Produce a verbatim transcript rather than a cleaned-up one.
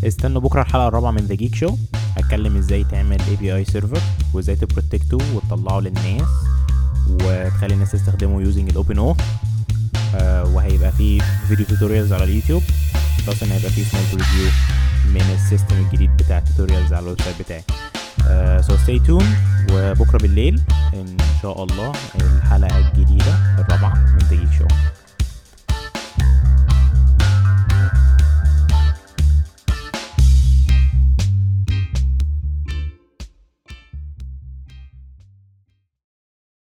استنوا بكره الحلقه الرابعه من ذا جيك شو. هتكلم ازاي تعمل اي بي اي سيرفر وازاي تبروتكته وتطلعه للناس وتخلي الناس تستخدمه يوزنج الاوبن او. وهيبقى فيه فيديو توتوريالز على اليوتيوب، بس ان هيبقى فيه سمول ريفيو من السيستم الجديد بتاع التوتوريالز على الويب سايت بتاعي. سو ستي تون، وبكره بالليل ان شاء الله الحلقه الجديده الرابعه من ذا جيك شو.